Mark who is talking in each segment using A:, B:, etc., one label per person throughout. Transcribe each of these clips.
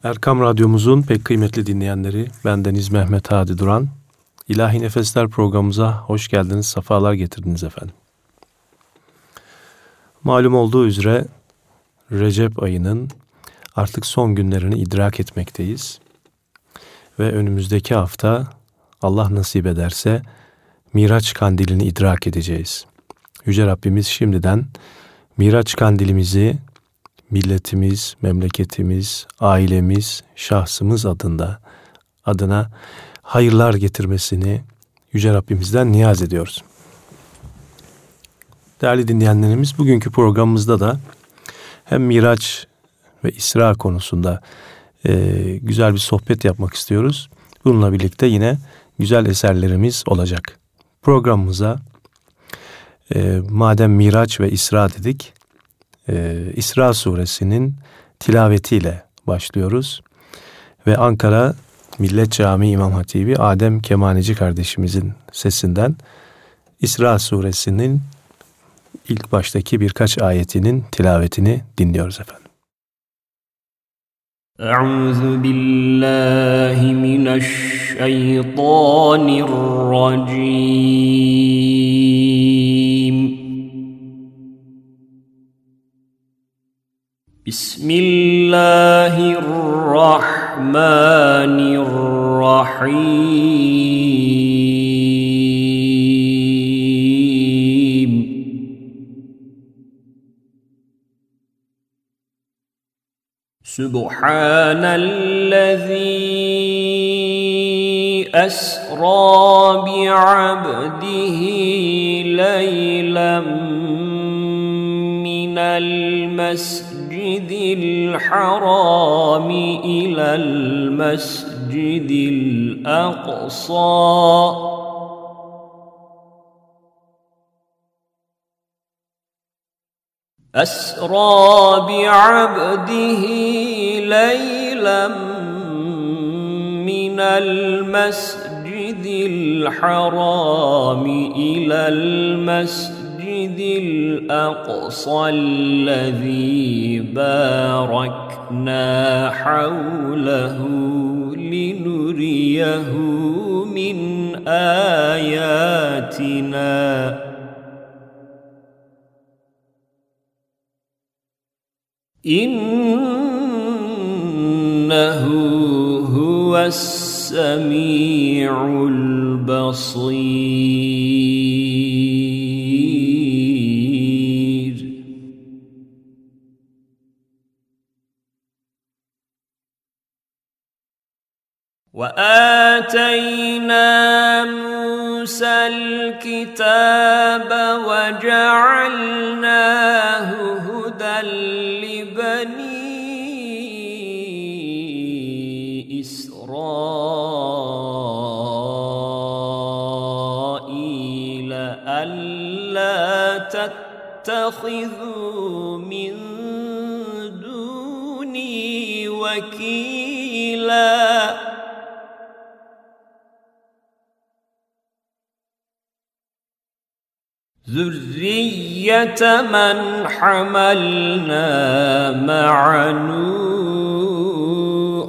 A: Erkam Radyomuzun pek kıymetli dinleyenleri, bendeniz Mehmet Hadi Duran. İlahi Nefesler programımıza hoş geldiniz, sefalar getirdiniz efendim. Malum olduğu üzere Recep ayının artık son günlerini idrak etmekteyiz. Ve önümüzdeki hafta Allah nasip ederse Miraç kandilini idrak edeceğiz. Yüce Rabbimiz şimdiden Miraç kandilimizi milletimiz, memleketimiz, ailemiz, şahsımız adına hayırlar getirmesini Yüce Rabbimizden niyaz ediyoruz. Değerli dinleyenlerimiz, bugünkü programımızda da hem Miraç ve İsra konusunda güzel bir sohbet yapmak istiyoruz. Bununla birlikte yine güzel eserlerimiz olacak. Programımıza madem Miraç ve İsra dedik, İsra suresinin tilavetiyle başlıyoruz. Ve Ankara Millet Camii İmam Hatibi Adem Kemaneci kardeşimizin sesinden İsra suresinin ilk baştaki birkaç ayetinin tilavetini dinliyoruz efendim.
B: Euzu billahi mineşşeytanirracim. Bismillahirrahmanirrahim. Subhanellezî esrâ bi'abdihi leylen minel mescidil harâmi ilel mescidil aqsâ أسرى بعبده ليلا من المسجد الحرام إلى المسجد الأقصى الذي باركنا حوله لنريه من آياتنا إنه هو السميع البصير. وآتينا موسى الكتاب وجعلناه هدى لبني إسرائيل ألا تتخذوا من دوني وكيلا ذرية من حملنا مع نوح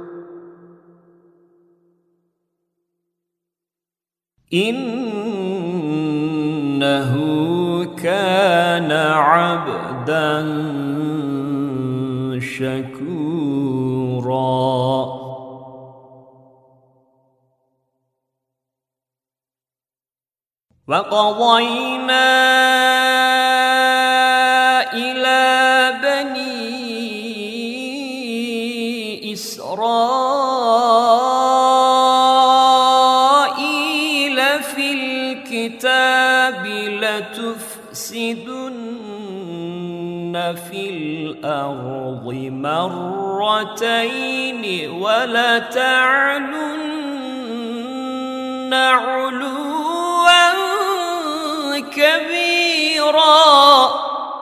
B: إنه كان عبدا شكورا. وقضينا إلى بني إسرائيل في الكتاب لتفسدن في الأرض مرتين ولتعلن علوا كبيرا.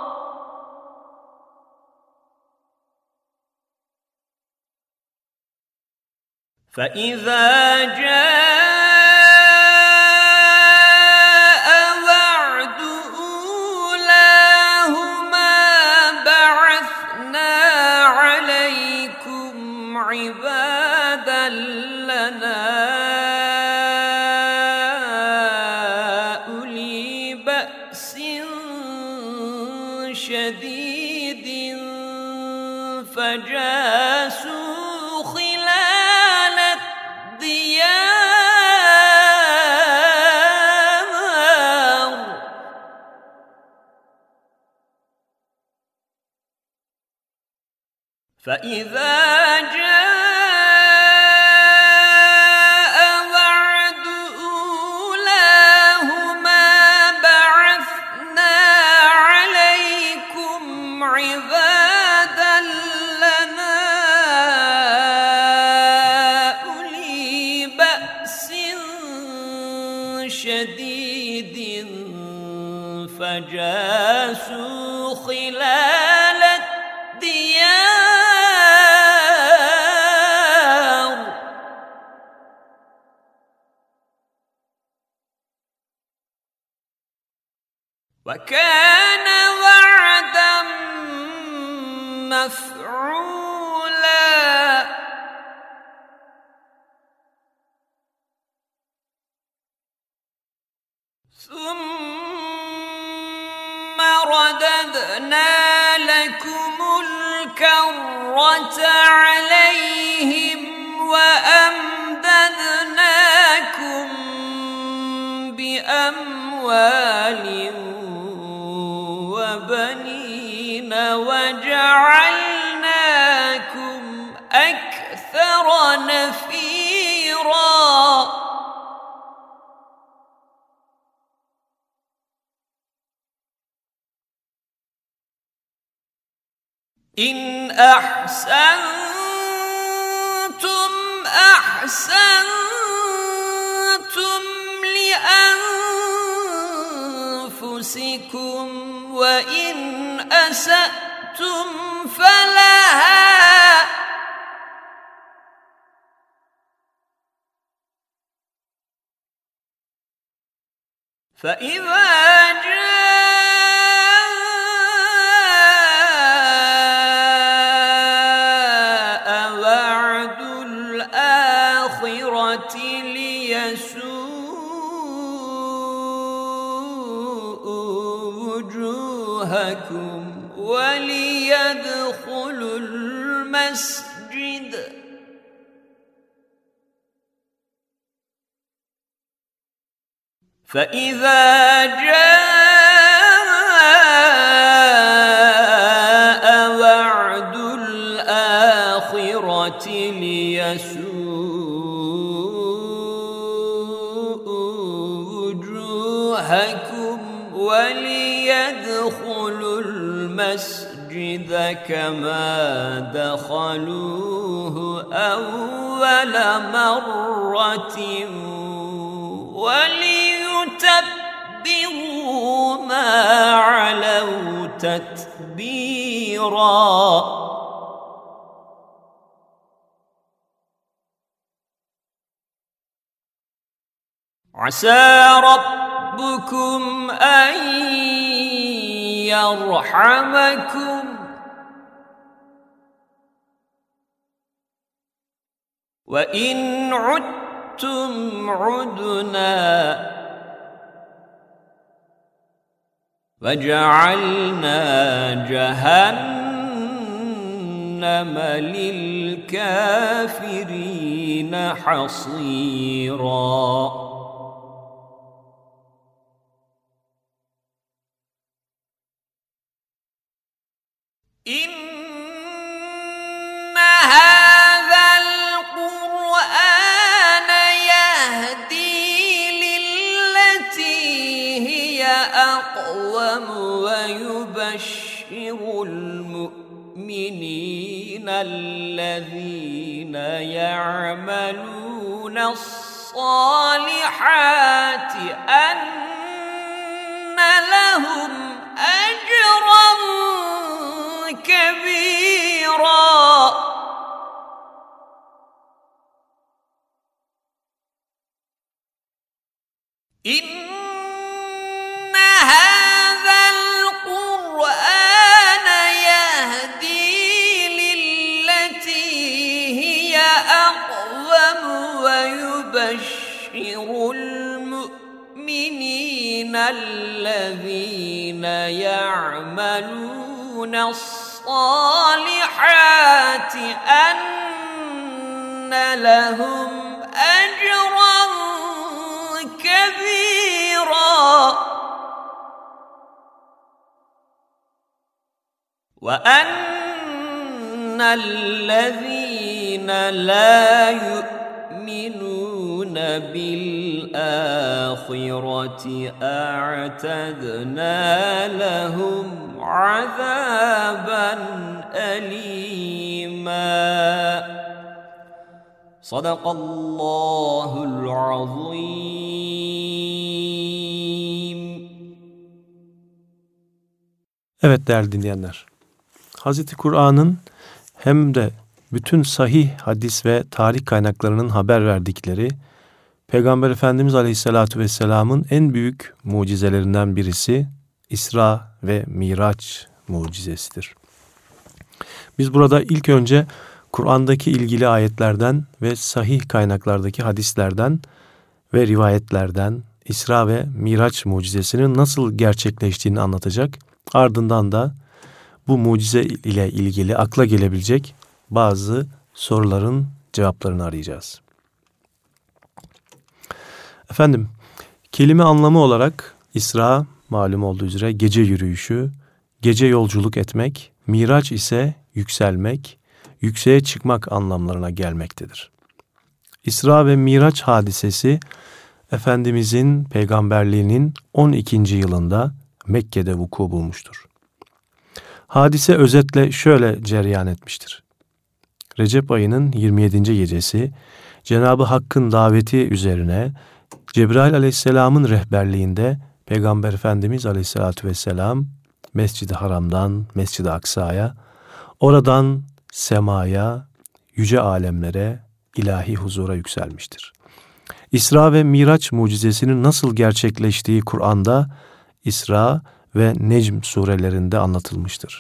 B: فإذا جاء وعد أولاهما بعثنا عليكم عبادا لنا أولي بأس شديد فجاسوا خلال الديار فإذا جاء وعد أولاهما بعثنا عليكم عبادا لنا أولي بأس شديد فجاسوا خلال الديار وكان وعدا مفعولا ثم رددنا لكم الكرة عليهم وأمددناكم بأموال وبنين وجعلناكم أكثر نفيرا إن أحسنتم أحسنتم لأنفسكم وإن أسأتم فلها فإذا جاء وعد الآخرة ليسوءوا وجوهكم وليدخلوا المسجد فإذا جاء وعد الآخرة ليسوءوا وجوهكم وليدخلوا المسجد كما دخلوه أول مرة وليتبروا ما علوا تتبيرا عسى ربكم أن يرحمكم وإن عدتم عدنا وجعلنا جهنم للكافرين حصيرا إن هذا القرآن يهدي للتي هي أقوم ويبشر المؤمنين الذين يعملون الصالحات أن لهم أجرا كبيرا إن هذا القرآن يهدي للتي أقوم ويبشر المؤمنين الذين يعملون الصالحات أن لهم أجرا كبيرا وأن الذين لا يؤمنون بالآخرة أعتدنا لهم عذابا أليما صدق الله العظيم.
A: Evet değerli dinleyenler, Hazreti Kur'an'ın hem de bütün sahih hadis ve tarih kaynaklarının haber verdikleri Peygamber Efendimiz Aleyhisselatü Vesselam'ın en büyük mucizelerinden birisi İsra ve Miraç mucizesidir. Biz burada ilk önce Kur'an'daki ilgili ayetlerden ve sahih kaynaklardaki hadislerden ve rivayetlerden İsra ve Miraç mucizesinin nasıl gerçekleştiğini anlatacak. Ardından da bu mucize ile ilgili akla gelebilecek bazı soruların cevaplarını arayacağız. Efendim, kelime anlamı olarak İsra malum olduğu üzere gece yürüyüşü, gece yolculuk etmek, Miraç ise yükselmek, yükseğe çıkmak anlamlarına gelmektedir. İsra ve Miraç hadisesi Efendimizin peygamberliğinin 12. yılında Mekke'de vuku bulmuştur. Hadise özetle şöyle cereyan etmiştir. Recep ayının 27. gecesi Cenab-ı Hakk'ın daveti üzerine Cebrail Aleyhisselam'ın rehberliğinde Peygamber Efendimiz Aleyhisselatü Vesselam Mescid-i Haram'dan Mescid-i Aksa'ya, oradan semaya, yüce alemlere, ilahi huzura yükselmiştir. İsra ve Miraç mucizesinin nasıl gerçekleştiği Kur'an'da İsra ve Necm surelerinde anlatılmıştır.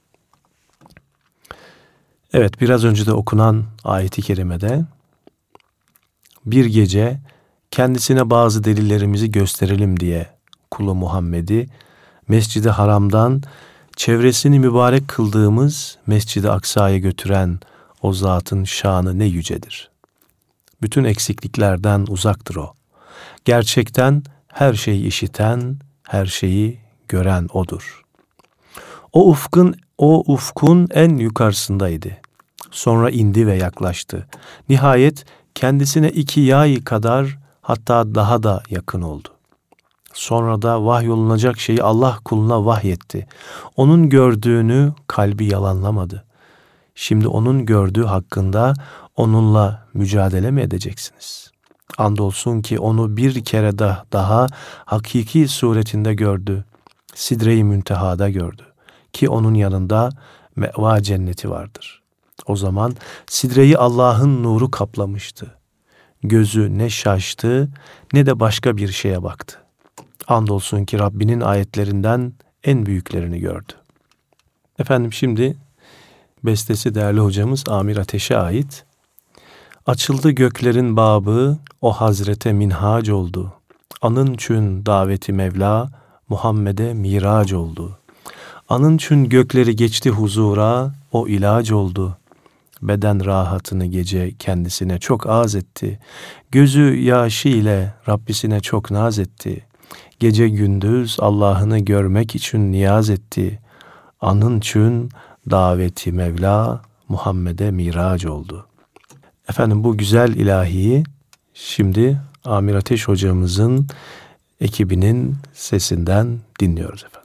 A: Evet, biraz önce de okunan ayet-i kerimede bir gece kendisine bazı delillerimizi gösterelim diye kulu Muhammed'i Mescid-i Haram'dan çevresini mübarek kıldığımız Mescid-i Aksa'ya götüren o zatın şanı ne yücedir. Bütün eksikliklerden uzaktır o. Gerçekten her şeyi işiten, her şeyi gören odur. O ufkun en yukarısındaydı. Sonra indi ve yaklaştı. Nihayet kendisine 2 yay kadar, hatta daha da yakın oldu. Sonra da vahyolunacak şeyi Allah kuluna vahyetti. Onun gördüğünü kalbi yalanlamadı. Şimdi onun gördüğü hakkında onunla mücadele mi edeceksiniz? Andolsun ki onu bir kere daha hakiki suretinde gördü. Sidre-i Münteha'da gördü. Ki onun yanında meva cenneti vardır. O zaman sidreyi Allah'ın nuru kaplamıştı. Gözü ne şaştı ne de başka bir şeye baktı. Andolsun ki Rabbinin ayetlerinden en büyüklerini gördü. Efendim, şimdi bestesi değerli hocamız Amir Ateş'e ait. Açıldı göklerin babı, o hazrete minhac oldu. Anın çün daveti Mevla, Muhammed'e mirac oldu. Anın çün gökleri geçti huzura, o ilac oldu. Beden rahatını gece kendisine çok az etti. Gözü yaşı ile Rabbisine çok naz etti. Gece gündüz Allah'ını görmek için niyaz etti. Anın çün daveti Mevla, Muhammed'e mirac oldu. Efendim, bu güzel ilahiyi şimdi Amir Ateş hocamızın ekibinin sesinden dinliyoruz efendim.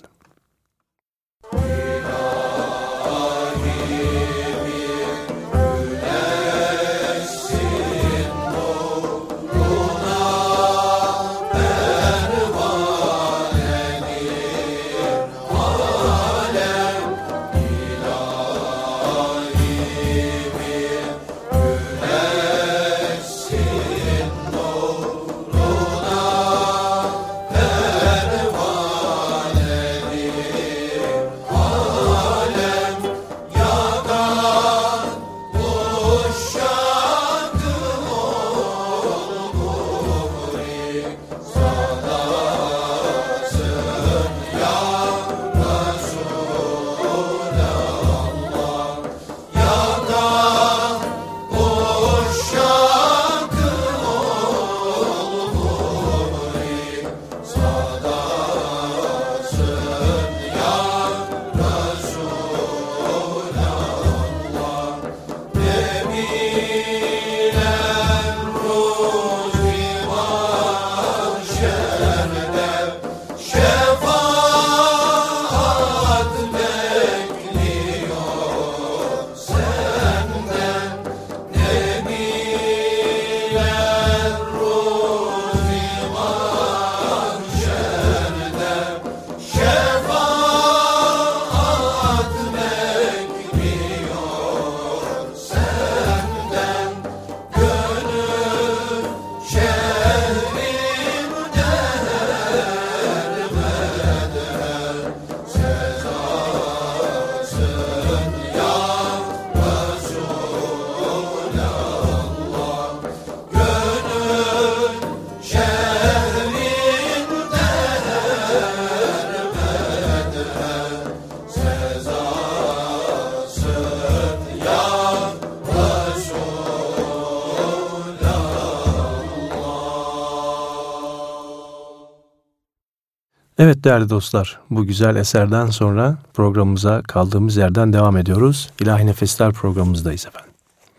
A: Evet değerli dostlar, bu güzel eserden sonra programımıza kaldığımız yerden devam ediyoruz. İlahi Nefesler programımızdayız efendim.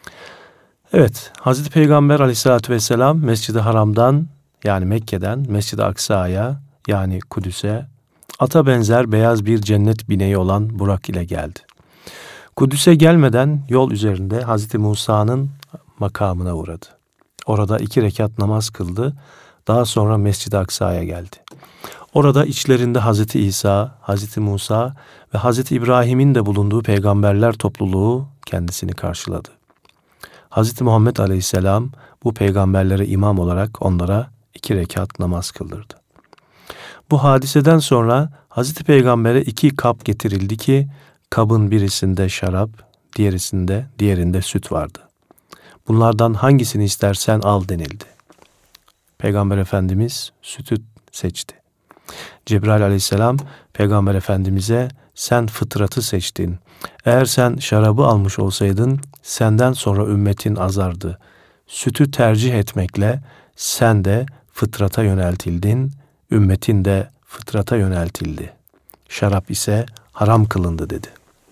A: Evet, Hazreti Peygamber Aleyhisselatü Vesselam Mescid-i Haram'dan, yani Mekke'den Mescid-i Aksa'ya, yani Kudüs'e ata benzer beyaz bir cennet bineği olan Burak ile geldi. Kudüs'e gelmeden yol üzerinde Hazreti Musa'nın makamına uğradı. Orada 2 rekat namaz kıldı. Daha sonra Mescid-i Aksa'ya geldi. Orada içlerinde Hazreti İsa, Hazreti Musa ve Hazreti İbrahim'in de bulunduğu peygamberler topluluğu kendisini karşıladı. Hazreti Muhammed Aleyhisselam bu peygamberlere imam olarak onlara 2 rekat namaz kıldırdı. Bu hadiseden sonra Hazreti Peygamber'e 2 kap getirildi ki kabın birisinde şarap, diğerinde süt vardı. Bunlardan hangisini istersen al denildi. Peygamber Efendimiz sütü seçti. Cebrail Aleyhisselam Peygamber Efendimiz'e sen fıtratı seçtin. Eğer sen şarabı almış olsaydın senden sonra ümmetin azardı. Sütü tercih etmekle sen de fıtrata yöneltildin, ümmetin de fıtrata yöneltildi. Şarap ise haram kılındı dedi.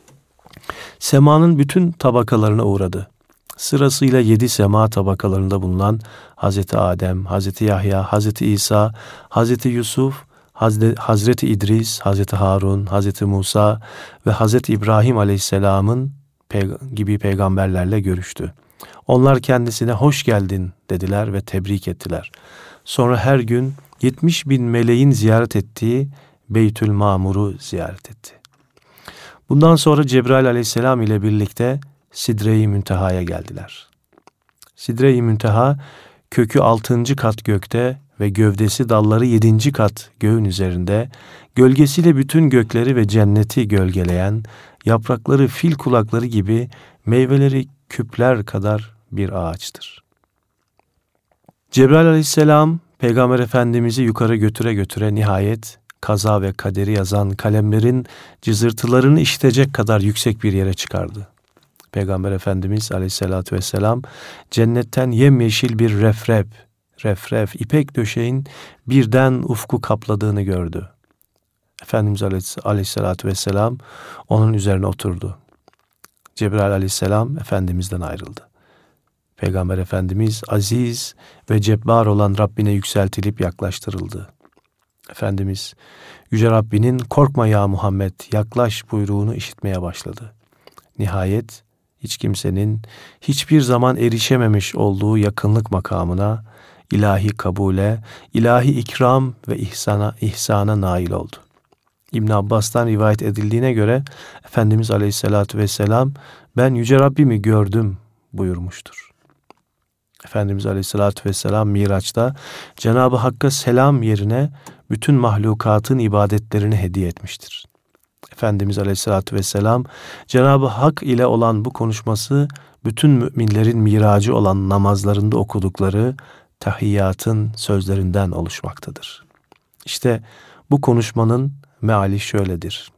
A: Semanın bütün tabakalarına uğradı. Sırasıyla 7 sema tabakalarında bulunan Hazreti Adem, Hazreti Yahya, Hazreti İsa, Hazreti Yusuf, Hazreti İdris, Hazreti Harun, Hazreti Musa ve Hazreti İbrahim Aleyhisselam'ın gibi peygamberlerle görüştü. Onlar kendisine hoş geldin dediler ve tebrik ettiler. Sonra her gün 70.000 meleğin ziyaret ettiği Beytül Mamur'u ziyaret etti. Bundan sonra Cebrail Aleyhisselam ile birlikte Sidre-i Münteha'ya geldiler. Sidre-i Münteha kökü 6. kat gökte ve gövdesi dalları 7. kat göğün üzerinde, gölgesiyle bütün gökleri ve cenneti gölgeleyen, yaprakları fil kulakları gibi, meyveleri küpler kadar bir ağaçtır. Cebrail Aleyhisselam Peygamber Efendimiz'i yukarı götüre nihayet kaza ve kaderi yazan kalemlerin cızırtılarını işitecek kadar yüksek bir yere çıkardı. Peygamber Efendimiz Aleyhisselatü Vesselam cennetten yemyeşil bir refref, ipek döşeğin birden ufku kapladığını gördü. Efendimiz Aleyhisselatü Vesselam onun üzerine oturdu. Cebrail Aleyhisselam Efendimiz'den ayrıldı. Peygamber Efendimiz aziz ve cebbar olan Rabbine yükseltilip yaklaştırıldı. Efendimiz Yüce Rabbinin korkma ya Muhammed yaklaş buyruğunu işitmeye başladı. Nihayet hiç kimsenin hiçbir zaman erişememiş olduğu yakınlık makamına, ilahi kabule, ilahi ikram ve ihsana nail oldu. İbn Abbas'tan rivayet edildiğine göre Efendimiz Aleyhisselatü Vesselam ben Yüce Rabbimi gördüm buyurmuştur. Efendimiz Aleyhisselatü Vesselam Miraç'ta Cenab-ı Hakk'a selam yerine bütün mahlukatın ibadetlerini hediye etmiştir. Efendimiz Aleyhisselatü Vesselam Cenab-ı Hak ile olan bu konuşması bütün müminlerin miracı olan namazlarında okudukları tahiyyatın sözlerinden oluşmaktadır. İşte bu konuşmanın meali şöyledir.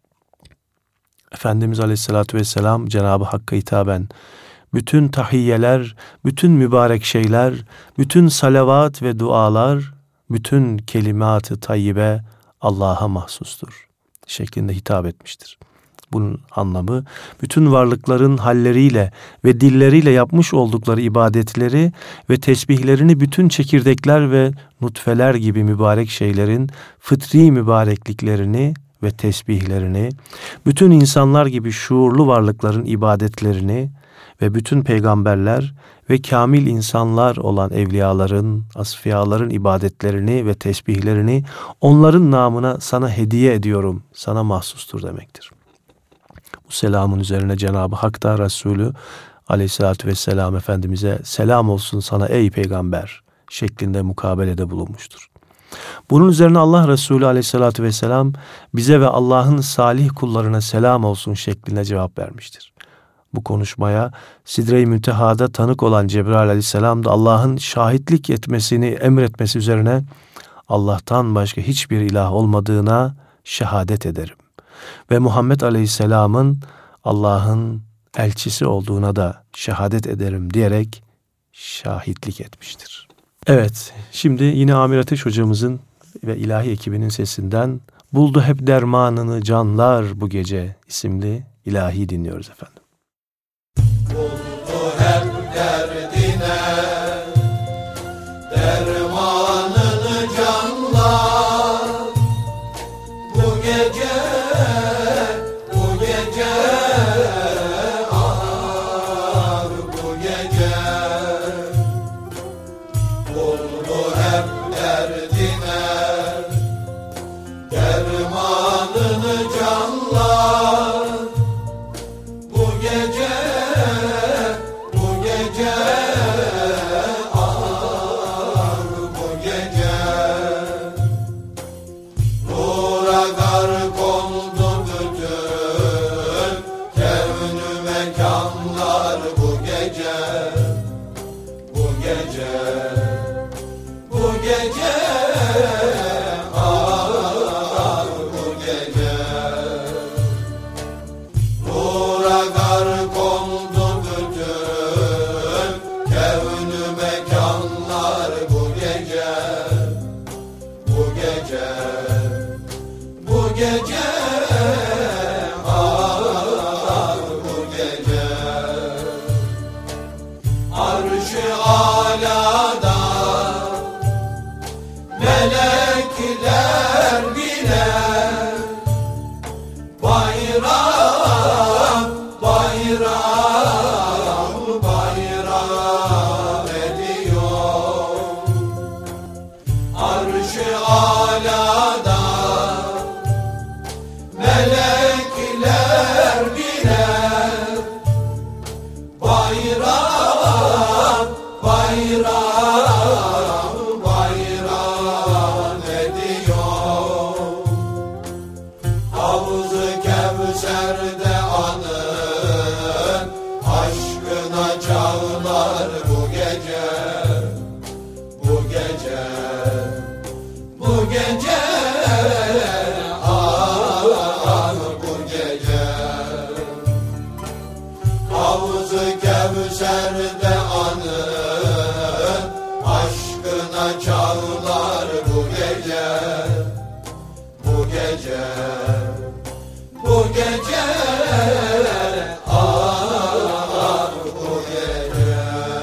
A: Efendimiz Aleyhisselatü Vesselam Cenab-ı Hakk'a hitaben bütün tahiyyeler, bütün mübarek şeyler, bütün salavat ve dualar, bütün kelimat-ı tayyibe Allah'a mahsustur şeklinde hitap etmiştir. Bunun anlamı bütün varlıkların halleriyle ve dilleriyle yapmış oldukları ibadetleri ve tesbihlerini bütün çekirdekler ve nutfeler gibi mübarek şeylerin fıtri mübarekliklerini ve tesbihlerini, bütün insanlar gibi şuurlu varlıkların ibadetlerini ve bütün peygamberler ve kamil insanlar olan evliyaların, asfiyaların ibadetlerini ve tesbihlerini onların namına sana hediye ediyorum, sana mahsustur demektir. Bu selamın üzerine Cenab-ı Hak da Resulü Aleyhisselatü Vesselam Efendimiz'e selam olsun sana ey peygamber şeklinde mukabelede bulunmuştur. Bunun üzerine Allah Resulü Aleyhisselatü Vesselam bize ve Allah'ın salih kullarına selam olsun şeklinde cevap vermiştir. Bu konuşmaya Sidre-i Münteha'da tanık olan Cebrail Aleyhisselam da Allah'ın şahitlik etmesini emretmesi üzerine Allah'tan başka hiçbir ilah olmadığına şehadet ederim. Ve Muhammed Aleyhisselam'ın Allah'ın elçisi olduğuna da şehadet ederim diyerek şahitlik etmiştir. Evet, şimdi yine Amir Ateş hocamızın ve ilahi ekibinin sesinden "Buldu hep dermanını canlar bu gece" isimli ilahi dinliyoruz efendim.
C: Buldu hep derdine dermanını canlar bu gece, bu gece, ah bu gece. Buldu hep derdine dermanını canlar bu gece, bu gece, ah bu gece. Nura gark oldu bütün kevn-ü mekanlar bu gece, bu gece, bu gece, ah bu gece. Nura gark oldu bütün kevn-ü mekanlar bu gece, bu gece, bu gece, ah bu gece. Arş-ı alada melekler bile bayram, bayram, bayram ediyor. Arş-ı alada melekler bile bayram, bayram, bayram ediyor. Havz-ı Kevser'de anın aşkına çağlar bu gece, bu gece, bu gece, ah bu gece. Havz-ı Kevser'de anın aşkına çağlar bu gece, bu gece, bu gece, ah bu gece.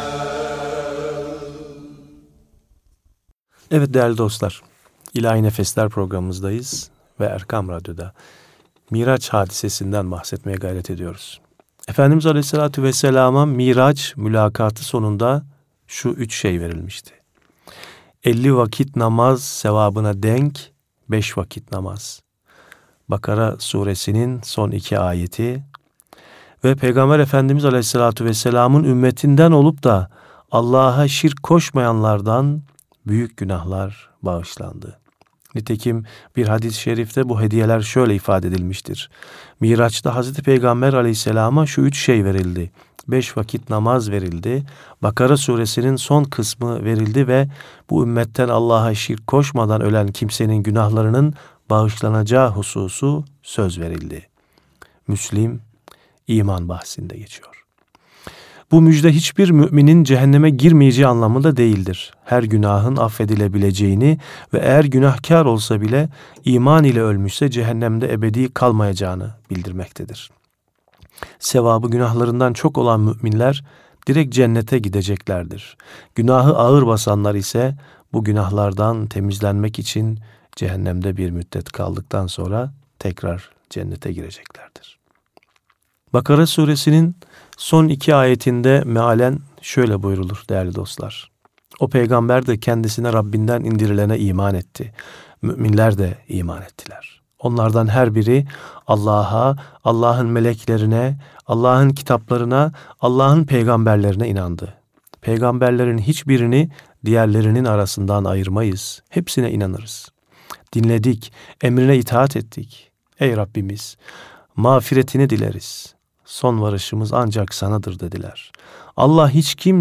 A: Evet değerli dostlar, İlahi Nefesler programımızdayız ve Erkam Radyo'da Miraç hadisesinden bahsetmeye gayret ediyoruz. Efendimiz Aleyhisselatü Vesselam'a Miraç mülakatı sonunda şu 3 şey verilmişti. 50 vakit namaz sevabına denk 5 vakit namaz. Bakara suresinin son 2 ayeti ve Peygamber Efendimiz Aleyhisselatü Vesselam'ın ümmetinden olup da Allah'a şirk koşmayanlardan büyük günahlar bağışlandı. Nitekim bir hadis-i şerifte bu hediyeler şöyle ifade edilmiştir. Miraç'ta Hazreti Peygamber Aleyhisselam'a şu 3 şey verildi. 5 vakit namaz verildi. Bakara suresinin son kısmı verildi ve bu ümmetten Allah'a şirk koşmadan ölen kimsenin günahlarının bağışlanacağı hususu söz verildi. Müslim iman bahsinde geçiyor. Bu müjde hiçbir müminin cehenneme girmeyeceği anlamında değildir. Her günahın affedilebileceğini ve eğer günahkar olsa bile iman ile ölmüşse cehennemde ebedi kalmayacağını bildirmektedir. Sevabı günahlarından çok olan müminler direkt cennete gideceklerdir. Günahı ağır basanlar ise bu günahlardan temizlenmek için cehennemde bir müddet kaldıktan sonra tekrar cennete gireceklerdir. Bakara suresinin son 2 ayetinde mealen şöyle buyrulur değerli dostlar. O peygamber de kendisine Rabbinden indirilene iman etti. Müminler de iman ettiler. Onlardan her biri Allah'a, Allah'ın meleklerine, Allah'ın kitaplarına, Allah'ın peygamberlerine inandı. Peygamberlerin hiçbirini diğerlerinin arasından ayırmayız. Hepsine inanırız. Dinledik, emrine itaat ettik. Ey Rabbimiz, mağfiretini dileriz. Son varışımız ancak sanadır dediler. Allah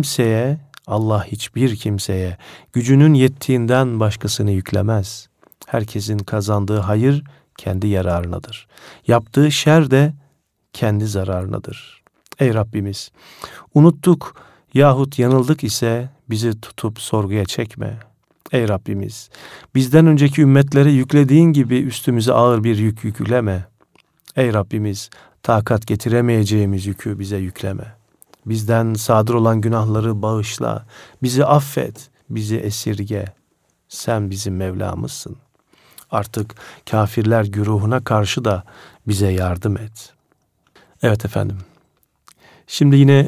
A: hiçbir kimseye gücünün yettiğinden başkasını yüklemez. Herkesin kazandığı hayır kendi yararınadır. Yaptığı şer de kendi zararınadır. Ey Rabbimiz, unuttuk yahut yanıldık ise bizi tutup sorguya çekme. Ey Rabbimiz, bizden önceki ümmetlere yüklediğin gibi üstümüze ağır bir yük yükleme. Ey Rabbimiz, takat getiremeyeceğimiz yükü bize yükleme. Bizden sadır olan günahları bağışla, bizi affet, bizi esirge. Sen bizim Mevlamızsın. Artık kafirler güruhuna karşı da bize yardım et. Evet efendim. Şimdi yine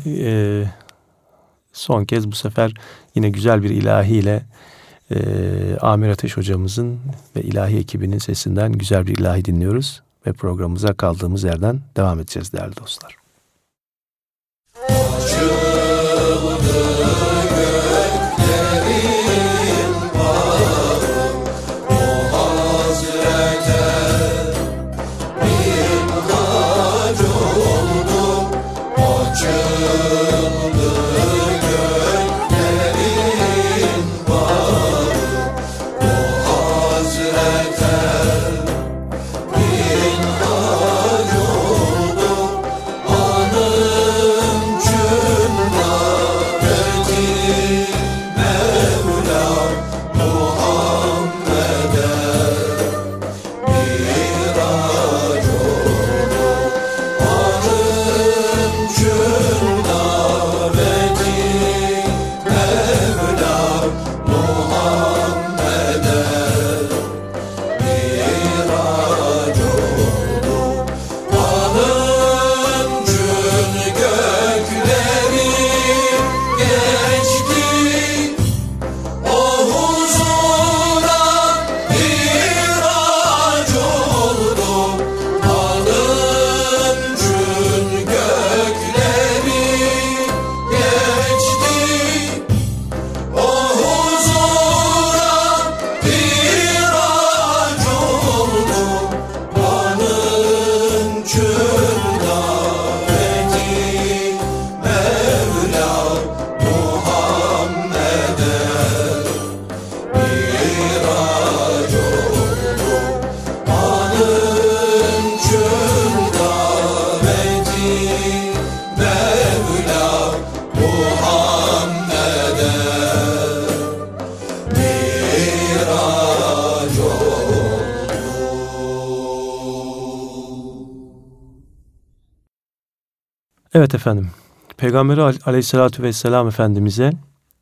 A: son kez bu sefer yine güzel bir ilahiyle Amir Ateş hocamızın ve ilahi ekibinin sesinden güzel bir ilahi dinliyoruz. Ve programımıza kaldığımız yerden devam edeceğiz değerli dostlar. Evet efendim, Peygamberi Aleyhisselatü Vesselam Efendimiz'e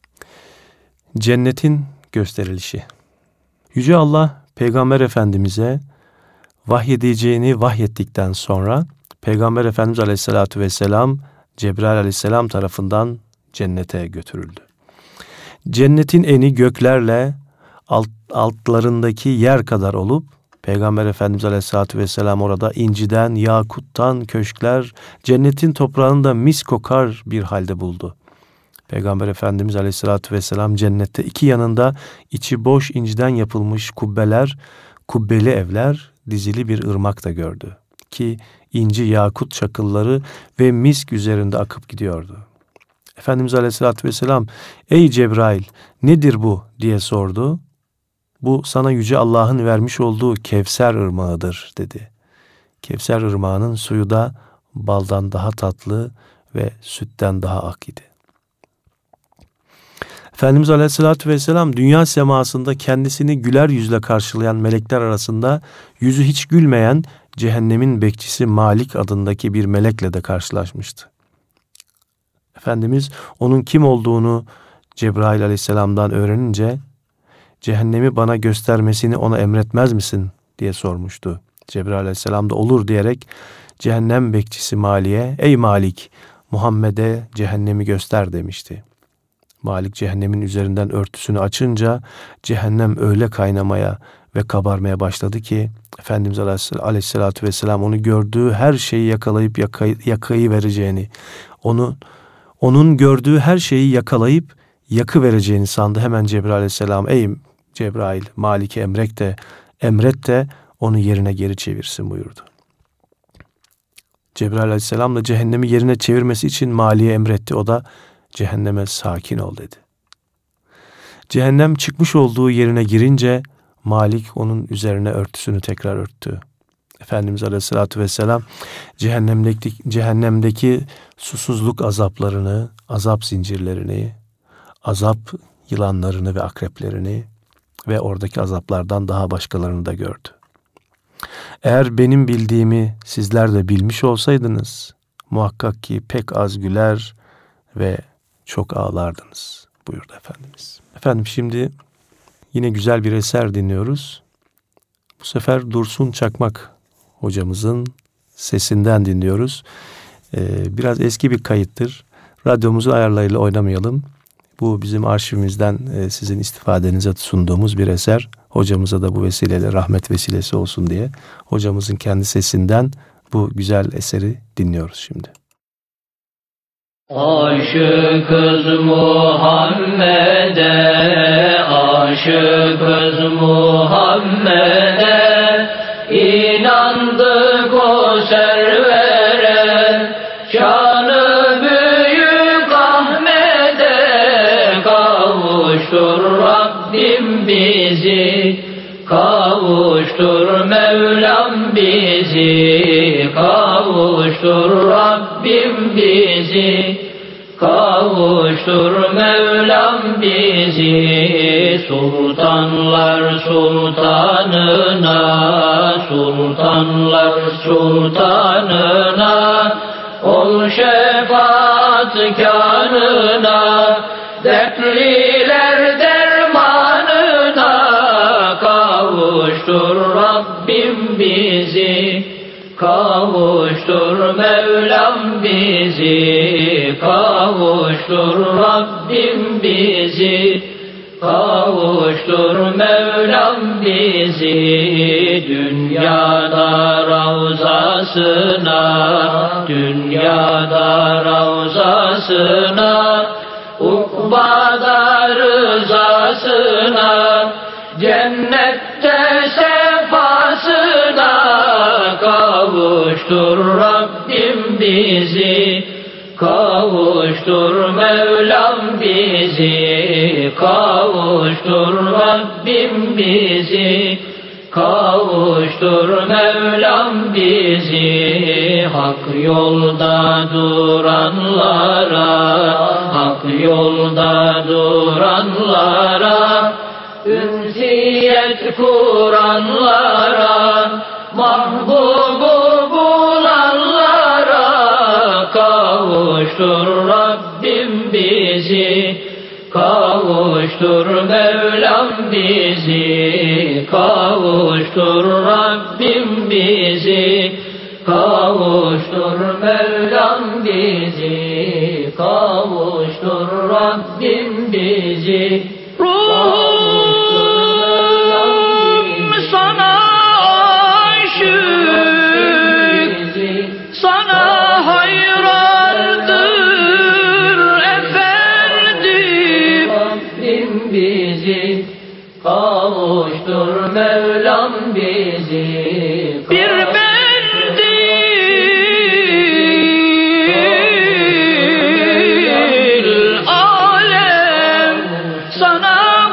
A: cennetin gösterilişi. Yüce Allah, Peygamber Efendimiz'e vahyedeceğini vahyettikten sonra, Peygamber Efendimiz Aleyhisselatü Vesselam, Cebrail Aleyhisselam tarafından cennete götürüldü. Cennetin eni göklerle altlarındaki yer kadar olup, Peygamber Efendimiz Aleyhisselatü Vesselam orada inciden, yakuttan köşkler, cennetin toprağında mis kokar bir halde buldu. Peygamber Efendimiz Aleyhisselatü Vesselam cennette iki yanında içi boş inciden yapılmış kubbeler, kubbeli evler, dizili bir ırmak da gördü. Ki inci yakut çakılları ve misk üzerinde akıp gidiyordu. Efendimiz Aleyhisselatü Vesselam, ''Ey Cebrail, nedir bu?'' diye sordu. ''Bu sana Yüce Allah'ın vermiş olduğu Kevser ırmağıdır.'' dedi. Kevser ırmağının suyu da baldan daha tatlı ve sütten daha ak idi. Efendimiz Aleyhisselatü Vesselam dünya semasında kendisini güler yüzle karşılayan melekler arasında yüzü hiç gülmeyen cehennemin bekçisi Malik adındaki bir melekle de karşılaşmıştı. Efendimiz onun kim olduğunu Cebrail Aleyhisselam'dan öğrenince cehennemi bana göstermesini ona emretmez misin diye sormuştu. Cebrail Aleyhisselam da olur diyerek cehennem bekçisi Malik'e ey Malik Muhammed'e cehennemi göster demişti. Malik cehennemin üzerinden örtüsünü açınca cehennem öyle kaynamaya ve kabarmaya başladı ki Efendimiz Aleyhisselatü Vesselam onu gördüğü her şeyi yakalayıp yakayı vereceğini, onun gördüğü her şeyi yakalayıp yakı vereceğini sandı. Hemen Cebrail Aleyhisselam ey Cebrail Malik'e emret de onu yerine geri çevirsin buyurdu. Cebrail Aleyhisselam da cehennemi yerine çevirmesi için Malik'e emretti. O da cehenneme sakin ol dedi. Cehennem çıkmış olduğu yerine girince Malik onun üzerine örtüsünü tekrar örttü. Efendimiz Aleyhisselatü Vesselam cehennemdeki susuzluk azaplarını, azap zincirlerini, azap yılanlarını ve akreplerini, ve oradaki azaplardan daha başkalarını da gördü. Eğer benim bildiğimi sizler de bilmiş olsaydınız, muhakkak ki pek az güler ve çok ağlardınız buyurdu Efendimiz. Efendim şimdi yine güzel bir eser dinliyoruz. Bu sefer Dursun Çakmak hocamızın sesinden dinliyoruz. Biraz eski bir kayıttır. Radyomuzu ayarlarıyla oynamayalım. Bu bizim arşivimizden sizin istifadenize sunduğumuz bir eser. Hocamıza da bu vesileyle rahmet vesilesi olsun diye hocamızın kendi sesinden bu güzel eseri dinliyoruz şimdi.
D: Aşıkız Muhammed'e, aşıkız Muhammed'e, inandık o servere, şanı büyük Ahmet'e, kavuştur Rabbim bizi, kavuştur Mevlam bizi, kavuştur Rabbim bizi, kavuştur Mevlam bizi. Sultanlar sultanına, sultanlar sultanına, ol şefaatkarına, dertliler dermanına, kavuştur Rabbim bizi, kavuştur Mevlam bizi, kavuştur Rabbim bizi, kavuştur Mevlam bizi. Dünyada ravzasına, dünyada ravzasına, ukbada rızasına, cennette sefasına, kavuştur Rabbim bizi, kavuştur Mevlam bizi, kavuştur Rabbim bizi, kavuştur Mevlam bizi. Hak yolda duranlara, hak yolda duranlara, ünsiyet kuranlara, mahbubu bulanlara, kavuştur Rabbim bizi, kavuştur Mevlam bizi, kavuştur Rabbim bizi, kavuştur Mevlam bizi, kavuştur Rabbim bizi.
E: Ruhum sana aşık, sana hayrandır efendim.
D: Rabbim bizi, kavuştur Mevlam bizi,
E: Bir mendil alem sana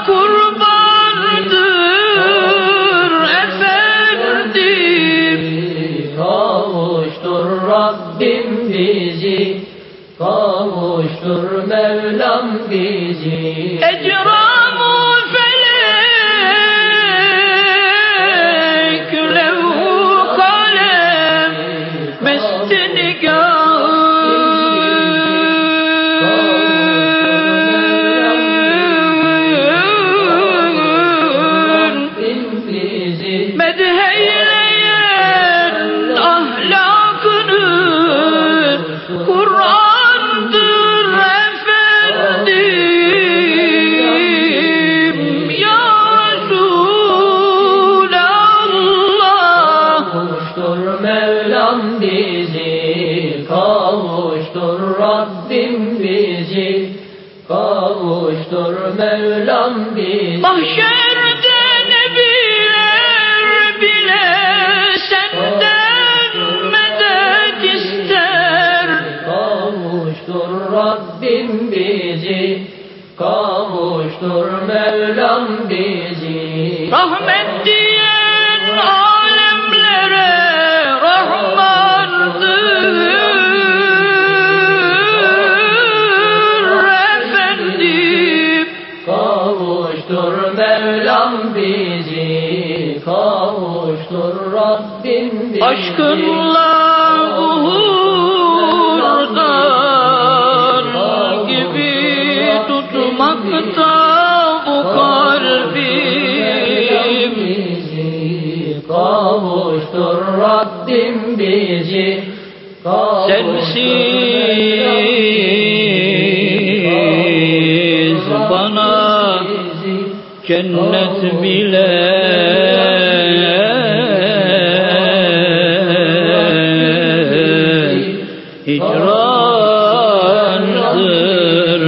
E: kurbandır efendim.
D: kavuştur Rabbim bizi, kavuştur Mevlam bizi.
E: Ecram-ı felek, levh-u kalem, mest-i nigahın, medheyleyen ahlakını, Kur'an'dır efendim. Ya Resulallah,
D: Kavuştur Mevlam bizi, kavuştur Rabbim bizi, kavuştur Mevlam bizi.
E: mahşerde nebiler bile senden medet ister.
D: Kavuştur Rabbim bizi, kavuştur Mevlam bizi.
E: Rahmet diyen alemlere Rahmandır efendim.
D: Kavuştur Mevlam Kavuştur Rabbim bizi.
E: Aşkınla uhurdan gibi tutmakta bu kalbim.
D: Kavuştur Rabbim bizi.
E: Sensiz bana cennet bile hicrandır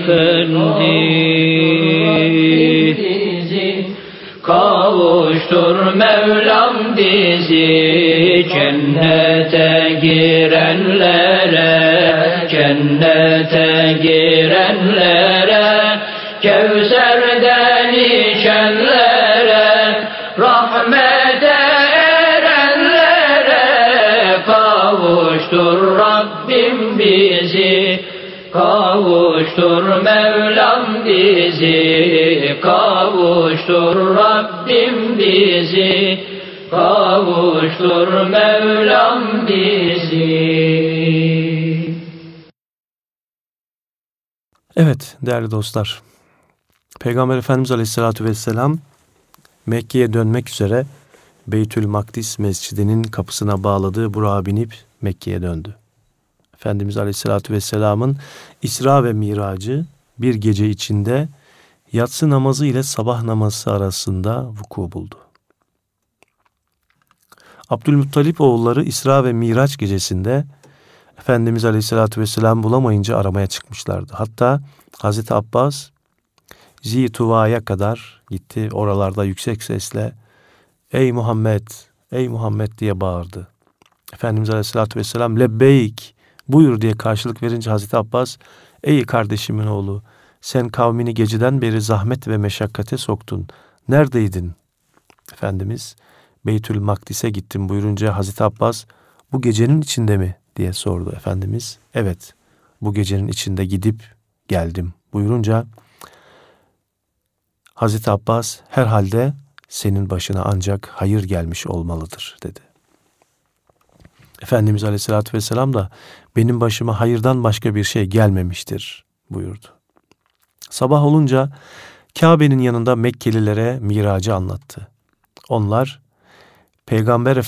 E: efendim. Kavuştur Mevlam bizi cennete girenlere, cennete girenlere, Kevser'den içenlere, rahmete erenlere. Kavuştur Rabbim bizi, kavuştur Mevlam bizi, kavuştur Rabbim bizi, kavuştur Mevlam bizi.
A: Evet değerli dostlar, Peygamber Efendimiz Aleyhisselatü Vesselam Mekke'ye dönmek üzere Beytül Makdis Mescidi'nin kapısına bağladığı Burak'a binip Mekke'ye döndü. Efendimiz Aleyhisselatü Vesselam'ın İsra ve Miracı bir gece içinde yatsı namazı ile sabah namazı arasında vuku buldu. Abdülmuttalip oğulları İsra ve Miraç gecesinde Efendimiz Aleyhisselatü Vesselam bulamayınca aramaya çıkmışlardı. Hatta Hazreti Abbas Zituva'ya kadar gitti. Oralarda yüksek sesle "Ey Muhammed, ey Muhammed" diye bağırdı. Efendimiz Aleyhisselatü Vesselam "Lebbeyk, buyur" diye karşılık verince Hazreti Abbas "Ey kardeşimin oğlu, sen kavmini geceden beri zahmet ve meşakkate soktun. Neredeydin?" Efendimiz Beytül Makdis'e gittim buyurunca Hazreti Abbas "Bu gecenin içinde mi?" diye sordu. Efendimiz "Evet, bu gecenin içinde gidip geldim" buyurunca Hazreti Abbas "Herhalde senin başına ancak hayır gelmiş olmalıdır" dedi. Efendimiz Aleyhisselatü Vesselam da "Benim başıma hayırdan başka bir şey gelmemiştir" buyurdu. Sabah olunca Kabe'nin yanında Mekkelilere miracı anlattı. Onlar Peygamber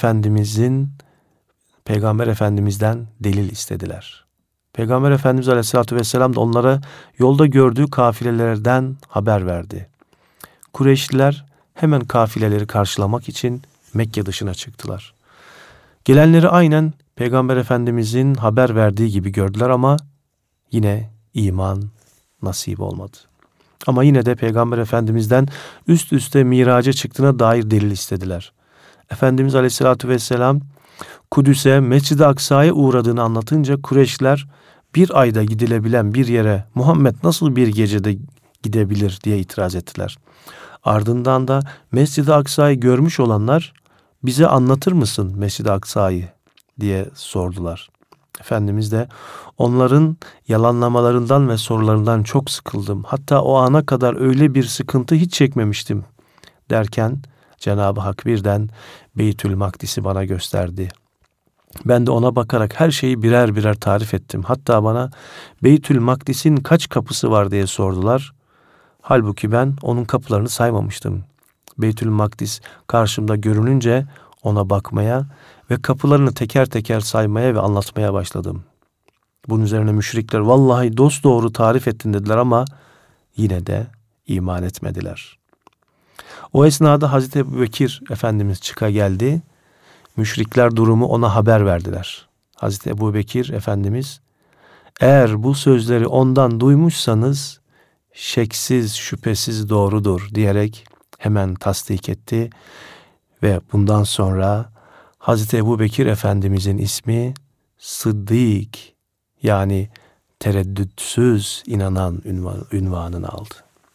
A: Efendimiz'den delil istediler. Peygamber Efendimiz Aleyhisselatü Vesselam da onlara yolda gördüğü kafilelerden haber verdi. Kureyşliler hemen kafileleri karşılamak için Mekke dışına çıktılar. Gelenleri aynen Peygamber Efendimizin haber verdiği gibi gördüler ama yine iman nasip olmadı. Ama yine de Peygamber Efendimiz'den üst üste miraca çıktığına dair delil istediler. Efendimiz Aleyhisselatü Vesselam Kudüs'e, Mescid-i Aksa'ya uğradığını anlatınca Kureyşliler bir ayda gidilebilen bir yere Muhammed nasıl bir gecede gidebilir diye itiraz ettiler. Ardından da Mescid-i Aksa'yı görmüş olanlar bize anlatır mısın Mescid-i Aksa'yı diye sordular. Efendimiz de onların yalanlamalarından ve sorularından çok sıkıldım. Hatta o ana kadar öyle bir sıkıntı hiç çekmemiştim derken Cenab-ı Hak birden Beytül Makdis'i bana gösterdi. Ben de ona bakarak her şeyi birer birer tarif ettim. Hatta bana Beytül Makdis'in kaç kapısı var diye sordular. Halbuki ben onun kapılarını saymamıştım. Beytül Makdis karşımda görününce ona bakmaya ve kapılarını teker teker saymaya ve anlatmaya başladım. Bunun üzerine müşrikler "Vallahi dosdoğru tarif ettin" dediler ama yine de iman etmediler. O esnada Hazreti Ebubekir Efendimiz çıka geldi. Müşrikler durumu ona haber verdiler. Hazreti Ebubekir Efendimiz "Eğer bu sözleri ondan duymuşsanız şeksiz şüphesiz doğrudur" diyerek hemen tasdik etti ve bundan sonra Hazreti Ebubekir Efendimizin ismi Sıddık, yani tereddütsüz inanan ünvanını aldı.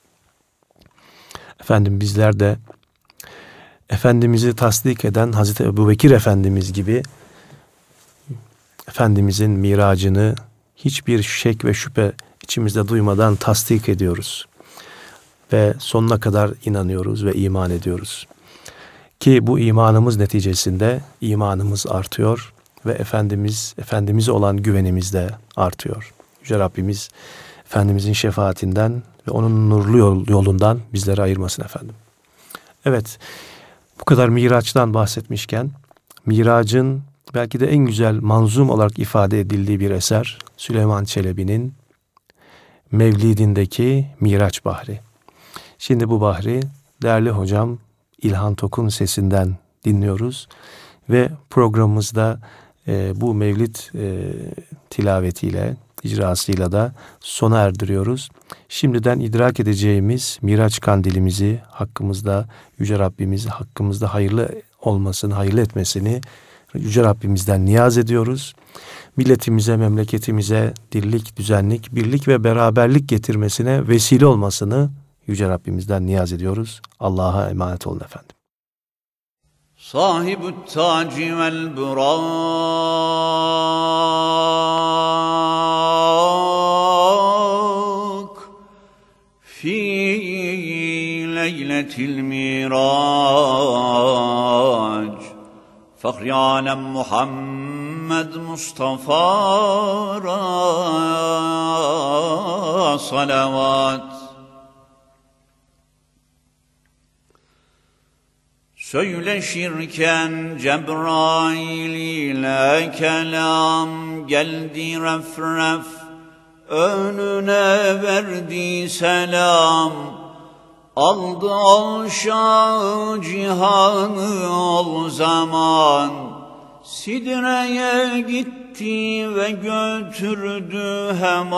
A: Efendim bizler de Efendimiz'i tasdik eden Hazreti Ebubekir Efendimiz gibi Efendimizin miracını hiçbir şek ve şüphe içimizde duymadan tasdik ediyoruz. Ve sonuna kadar inanıyoruz ve iman ediyoruz. Ki bu imanımız neticesinde imanımız artıyor ve Efendimiz'e olan güvenimiz de artıyor. Yüce Rabbimiz Efendimiz'in şefaatinden ve onun nurlu yolundan bizleri ayırmasın efendim. Evet, bu kadar Miraç'tan bahsetmişken, Mirac'ın belki de en güzel manzum olarak ifade edildiği bir eser, Süleyman Çelebi'nin Mevlidindeki Miraç Bahri. Şimdi bu bahri değerli hocam İlhan Tok'un sesinden dinliyoruz ve programımızda bu Mevlid tilavetiyle, icrasıyla da sona erdiriyoruz. Şimdiden idrak edeceğimiz Miraç kandilimizi hakkımızda Yüce Rabbimiz hakkımızda hayırlı olmasını, hayırlı etmesini Yüce Rabbimizden niyaz ediyoruz. Milletimize, memleketimize dirlik, düzenlik, birlik ve beraberlik getirmesine vesile olmasını Yüce Rabbimizden niyaz ediyoruz. Allah'a emanet olun efendim.
C: Sahibü taci vel burak fi leyletil mirac Fahri alem Muhammed Mustafa'ra salavat. Söyleşirken Cebrail ile kelam geldi ref ref önüne verdi selam. Aldı ol şah cihanı ol zaman, Sidre'ye gitti ve götürdü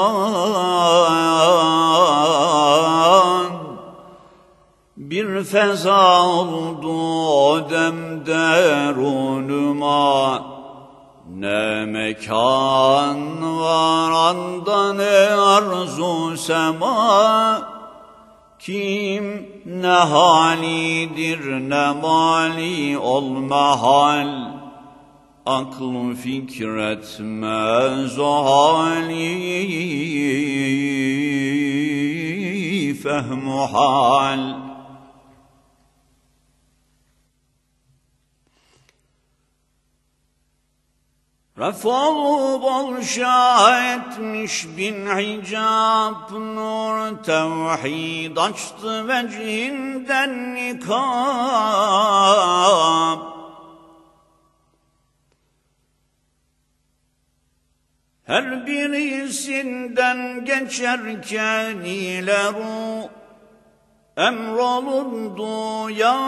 C: hemen. Bir feza oldu o demde runuma, ne mekan var anda ne arzu sema. Kim ne halidir ne mali ol mahal, aklı fikretmez o hali fehmu hal. Refolu bol şah etmiş bin hicab, nur tevhid açtı vecihinden nikab. Her birisinden geçerken ile ruh emrolundu ya.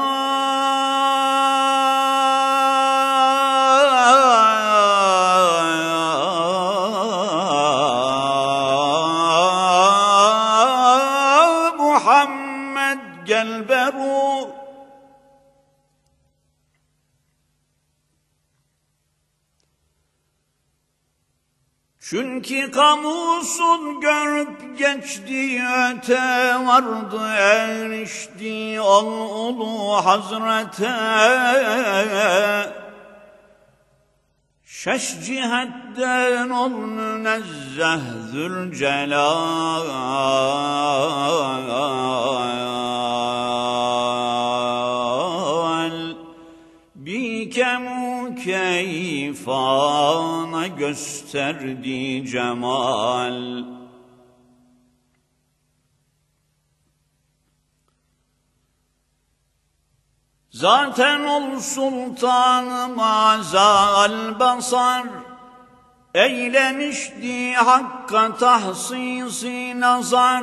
C: Gel beru. Çünkü kamusun görüp geçti öte vardı erişti ol ulu hazrete. Şeş cihetten ol münezzeh Zülcelal. Bikemu keyfana gösterdi cemal. Zaten ol sultan mazal basar, eylemişti hakka tahsisi nazar.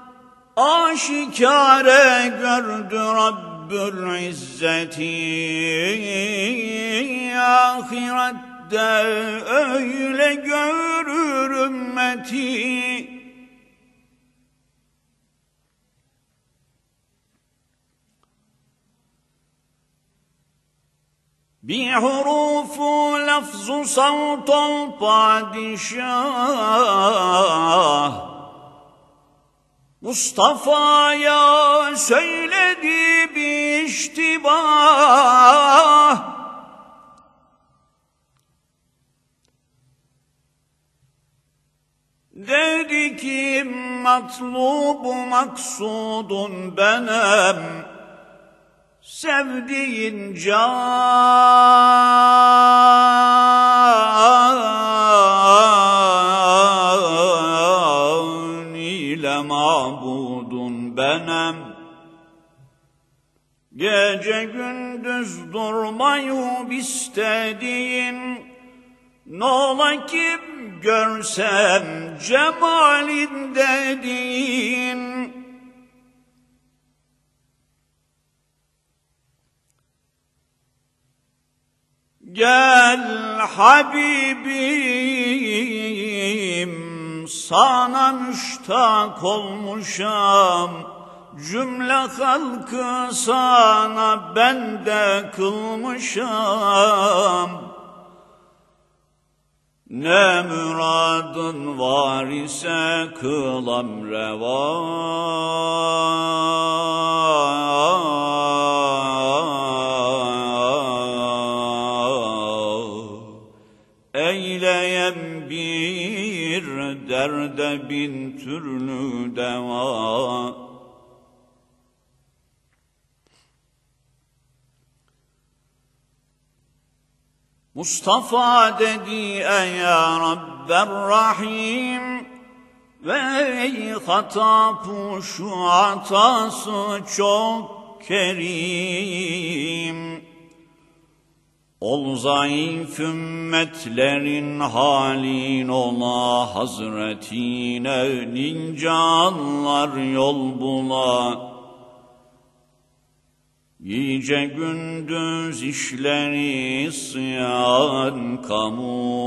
C: Aşikare gördü Rabbül İzzeti, ahirette öyle görür ümmeti. Bir hurufu lafzu savt ol padişah, Mustafa'ya söyledi bir iştibah. Dedi ki matlubu maksudun benem, sevdiğin can ile mabudun benem. Gece gündüz durmayıp istediğin, n'ola ki görsem cemalin dediğin. Gel Habibim, sana müştak olmuşam, cümle halkı sana bende kılmışam. Ne müradın var ise kılam reva. Eyleyem bir derde bin türlü deva. Mustafa dedi ey ya Rabberrahim, ve ey hatapı şu atası çok kerim. Ol zayıf ümmetlerin halin ola, hazretine nincanlar yol bula. Gece gündüz işleri isyan kamu.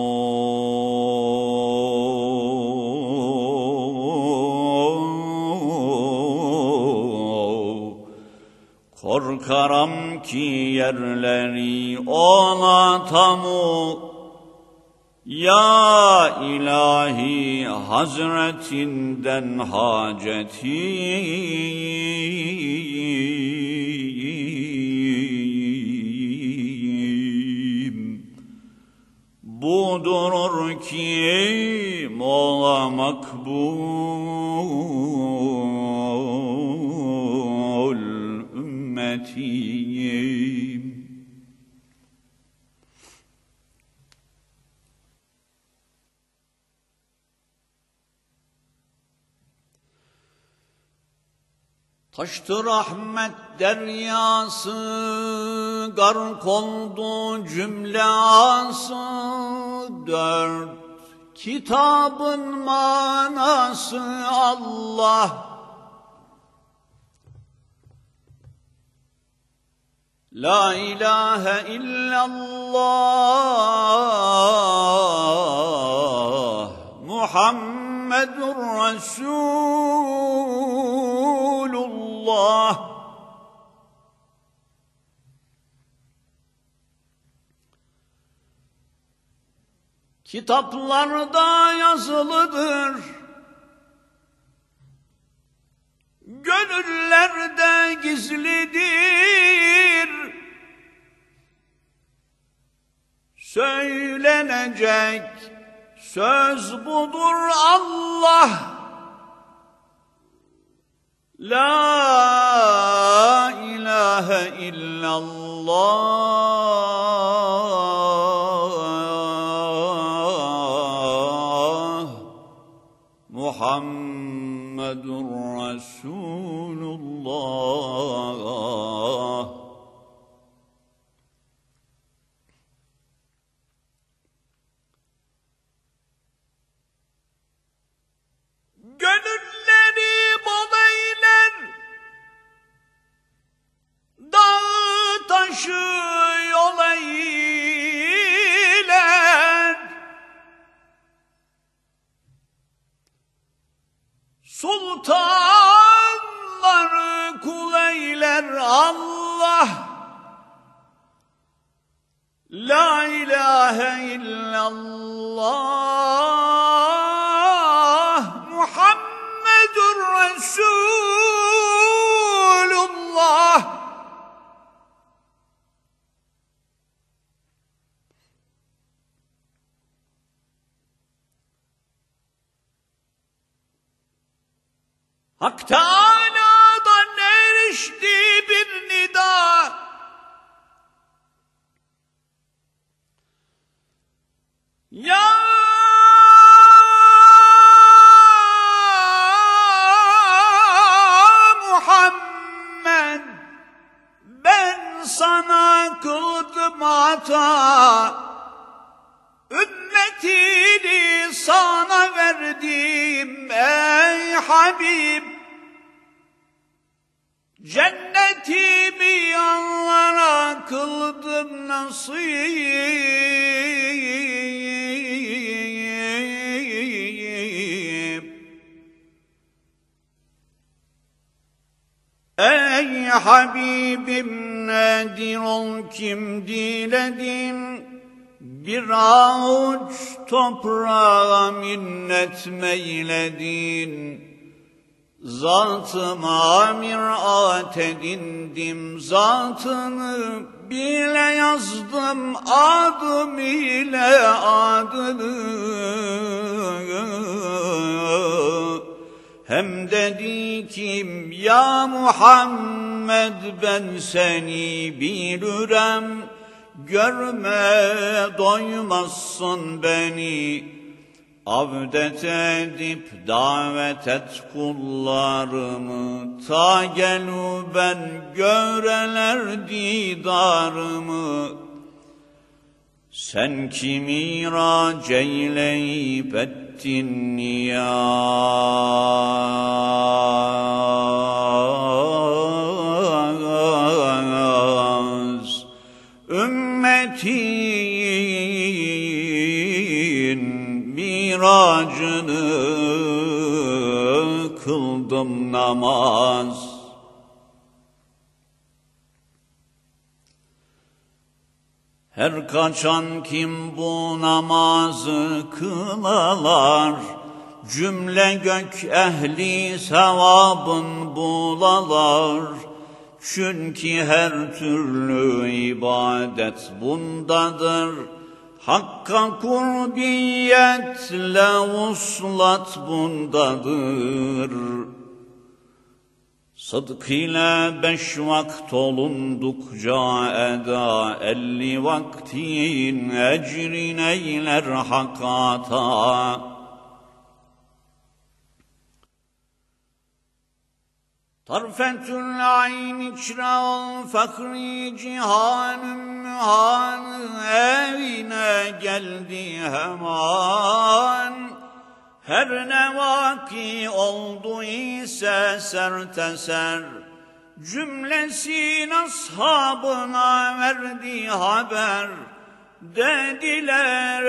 C: Korkaram ki yerleri ola tamu. Ya ilahi hazretinden hacetim budur ki mola makbul ümmetiyim. Taştı rahmet deryası, gark oldu cümle ası. Dört kitabın manası Allah. La ilahe illallah Muhammedur Resulullah. Kitaplarda yazılıdır, gönüllerde gizlidir. Söylenecek söz budur Allah. La ilahe illallah Muhammedur Resulullah. Gönülleri bol eyler, dağ taşı yol eyler. Sultanları kul eyler Allah. La ilahe illallah Muhammedur Resulullah. Hak Teâlâ'dan erişti bir nida. Habib, cennetimi yanlara kıldım nasip. Ey Habibim, nedir ol kim diledin, bir avuç toprağa minnet meyledin. Zatıma mirat edindim, zatını bile yazdım, adım ile adını. Hem dedi kim ya Muhammed, ben seni bilirim, görme doymazsın beni. Avdet edip davet et kullarımı, ta gelu ben göreler didarımı. Sen ki mirac eyleyip ettin niyaz, ümmetin miracını kıldım namaz. Her kaçan kim bu namazı kılalar, cümle gök ehli sevabın bulalar. Çünkü her türlü ibadet bundadır, Hakka kurbiyetle vuslat bundadır. Sıdk ile 5 vakt olundukça eda, 50 vaktin ecrin eyler hakata. Tarfetül ayn içra ol, fakri cihanın mühanı evine geldi hemen. Her ne vaki oldu ise serteser, cümlesin ashabına verdi haber. Dediler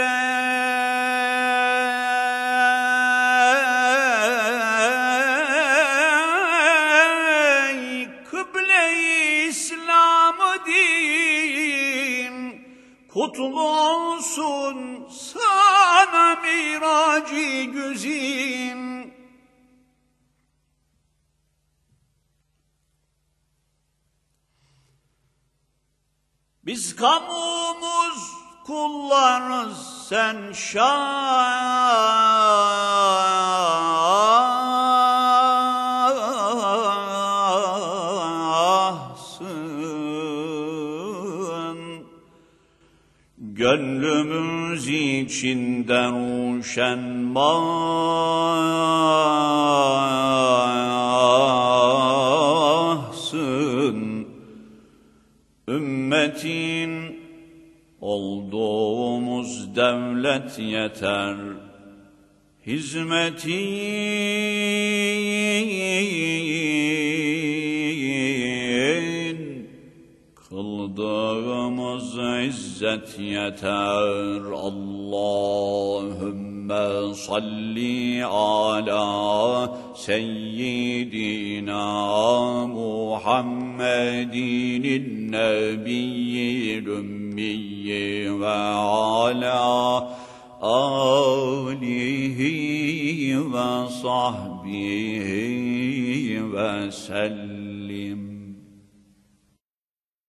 C: ey kıble-i İslam-ı din, kutlu olsun sana miracı güzin. Biz kamumuz kullarız, sen şahsın. Gönlümüz içinde ruşen mahsın. Ümmetin olduğumuz devlet yeter, hizmetin kıldığımız izzet yeter. Allahümme salli ala seyyidina Muhammedin nebiyyil ümmiyyi ve ala alihi ve sahbihi ve sellim.